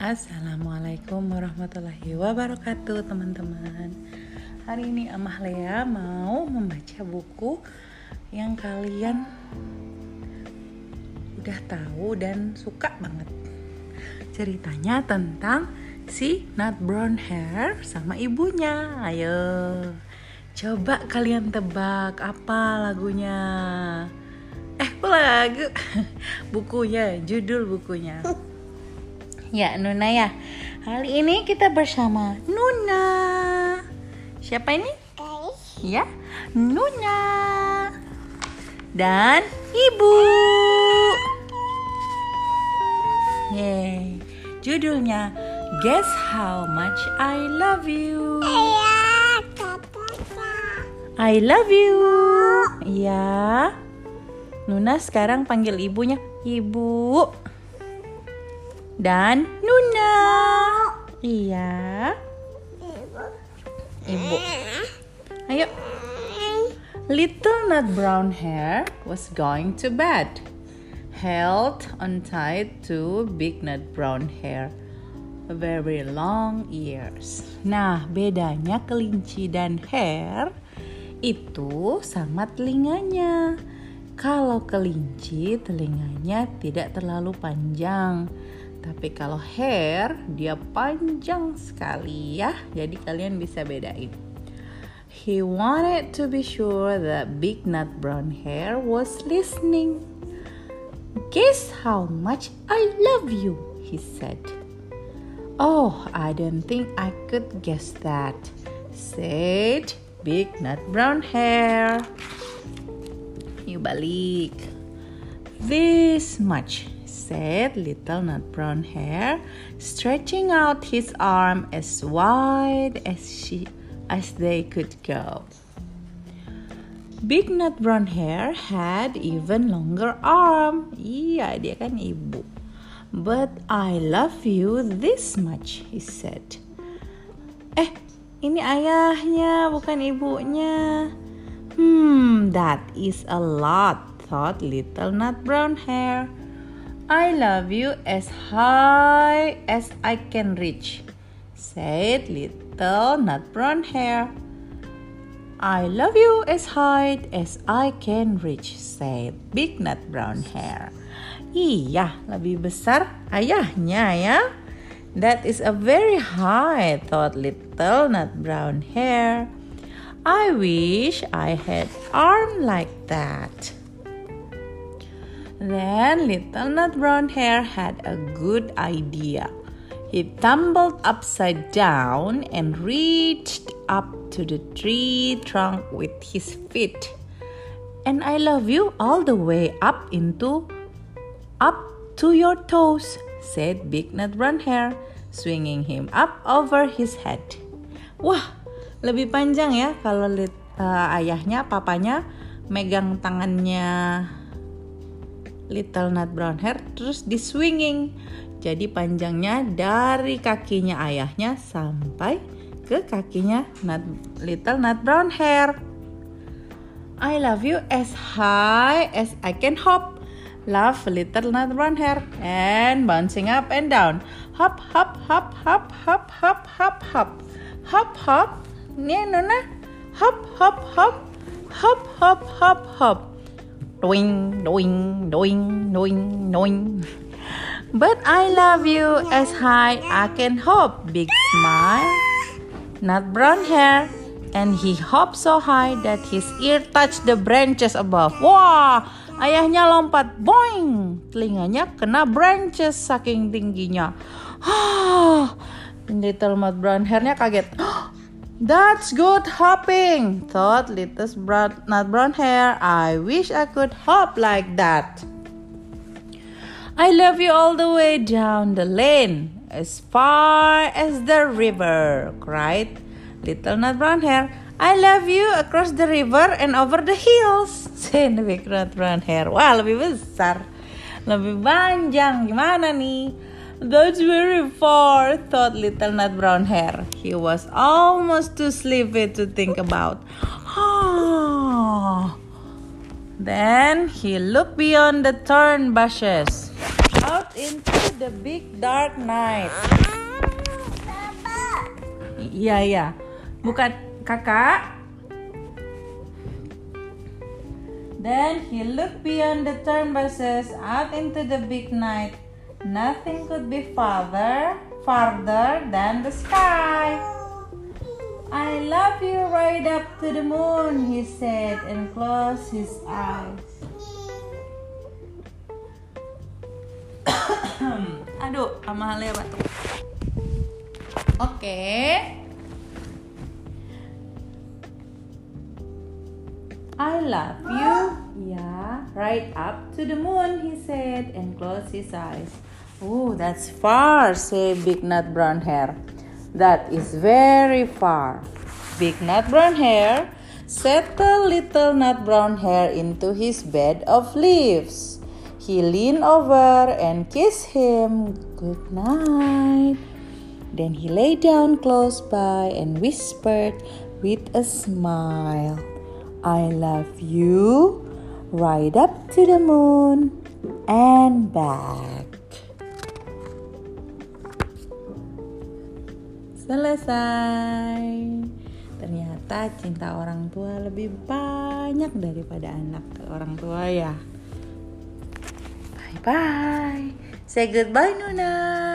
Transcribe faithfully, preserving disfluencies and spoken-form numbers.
Assalamualaikum warahmatullahi wabarakatuh, teman-teman. Hari ini Amahlea mau membaca buku yang kalian udah tahu dan suka banget. Ceritanya tentang si Nut Brown Hair sama ibunya. Ayo, coba kalian tebak apa lagunya. Eh, kok lagu? Bukunya, judul bukunya. Ya, Nuna ya. Hari ini kita bersama Nuna. Siapa ini? Guys. Ya, Nuna. Dan Ibu. Yeay. Judulnya Guess How Much I Love You. I love you. Ya. Nuna sekarang panggil ibunya Ibu. Dan Nuna. Iya. Ibu. Ayo. Little Nut Brown Hair was going to bed, held on tight to Big Nut Brown Hair, very long ears. Nah, bedanya kelinci dan hair itu sama telinganya. Kalau kelinci telinganya tidak terlalu panjang, tapi kalau hair dia panjang sekali ya. Jadi kalian bisa bedain. He wanted to be sure that Big Nut Brown Hair was listening. Guess how much I love you, he said. Oh, I don't think I could guess that, said Big Nut Brown Hair. Yuk balik. This much, said Little Nut Brown Hair, stretching out his arm as wide as she as they could go. Big Nut Brown Hair had even longer arm. Iya, dia kan ibu. But I love you this much, he said. Eh, ini ayahnya, bukan ibunya. Hmm, that is a lot, thought Little Nut Brown Hair. I love you as high as I can reach, said Little Nut Brown Hair. I love you as high as I can reach, said Big Nut Brown Hair. Iya, lebih besar ayahnya ya. That is a very high, thought Little Nut Brown Hair. I wish I had arm like that. Then Little Nut Brown Hair had a good idea. He tumbled upside down and reached up to the tree trunk with his feet. And I love you all the way up into up to your toes, said Big Nut Brown Hair, swinging him up over his head. Wah, lebih panjang ya kalau uh, ayahnya, papanya megang tangannya Little Nut Brown Hair terus di swinging. Jadi panjangnya dari kakinya ayahnya sampai ke kakinya Nut, Little Nut Brown Hair. I love you as high as I can hop, laughed Little Nut Brown Hair, and bouncing up and down. Hop, hop, hop, hop, hop, hop, hop, hop, hop, hop. Nih Nona, hop, hop, hop, hop, hop, hop, hop. Doing, doing, doing, doing, doing. But I love you as high I can hop, Big smile, Nut Brown Hair, and he hopped so high that his ear touched the branches above. Wah, ayahnya lompat, boing, telinganya kena branches saking tingginya. Ah, Little Nut Brown Hair-nya kaget. That's good hopping, thought Little Nut Brown Hair. I wish I could hop like that. I love you all the way down the lane, as far as the river, cried Little Nut Brown Hair. I love you across the river and over the hills, said Big Nut Brown Hair. Wah, lebih besar, lebih panjang. Gimana nih? That's very far, thought Little Nut Brown Hair. He was almost too sleepy to think about. Ah. Then he looked beyond the thorn bushes, out into into the big dark night. Iya, iya. Bukan kakak. Then he looked beyond the turn buses out into the big night. Nothing could be farther, farther than the sky. I love you right up to the moon, he said and closed his eyes. Aduh, Amalia batuk. Oke. Okay. I love you, yeah, right up to the moon, he said and closed his eyes. Oh, that's far, said Big Nut Brown Hair. That is very far. Big Nut Brown Hair settled Little Nut Brown Hair into his bed of leaves. He leaned over and kissed him good night. Then he lay down close by and whispered with a smile, I love you right up to the moon and back. Selesai. Ternyata cinta orang tua lebih banyak daripada anak orang tua ya. Bye bye. Say goodbye, Nuna.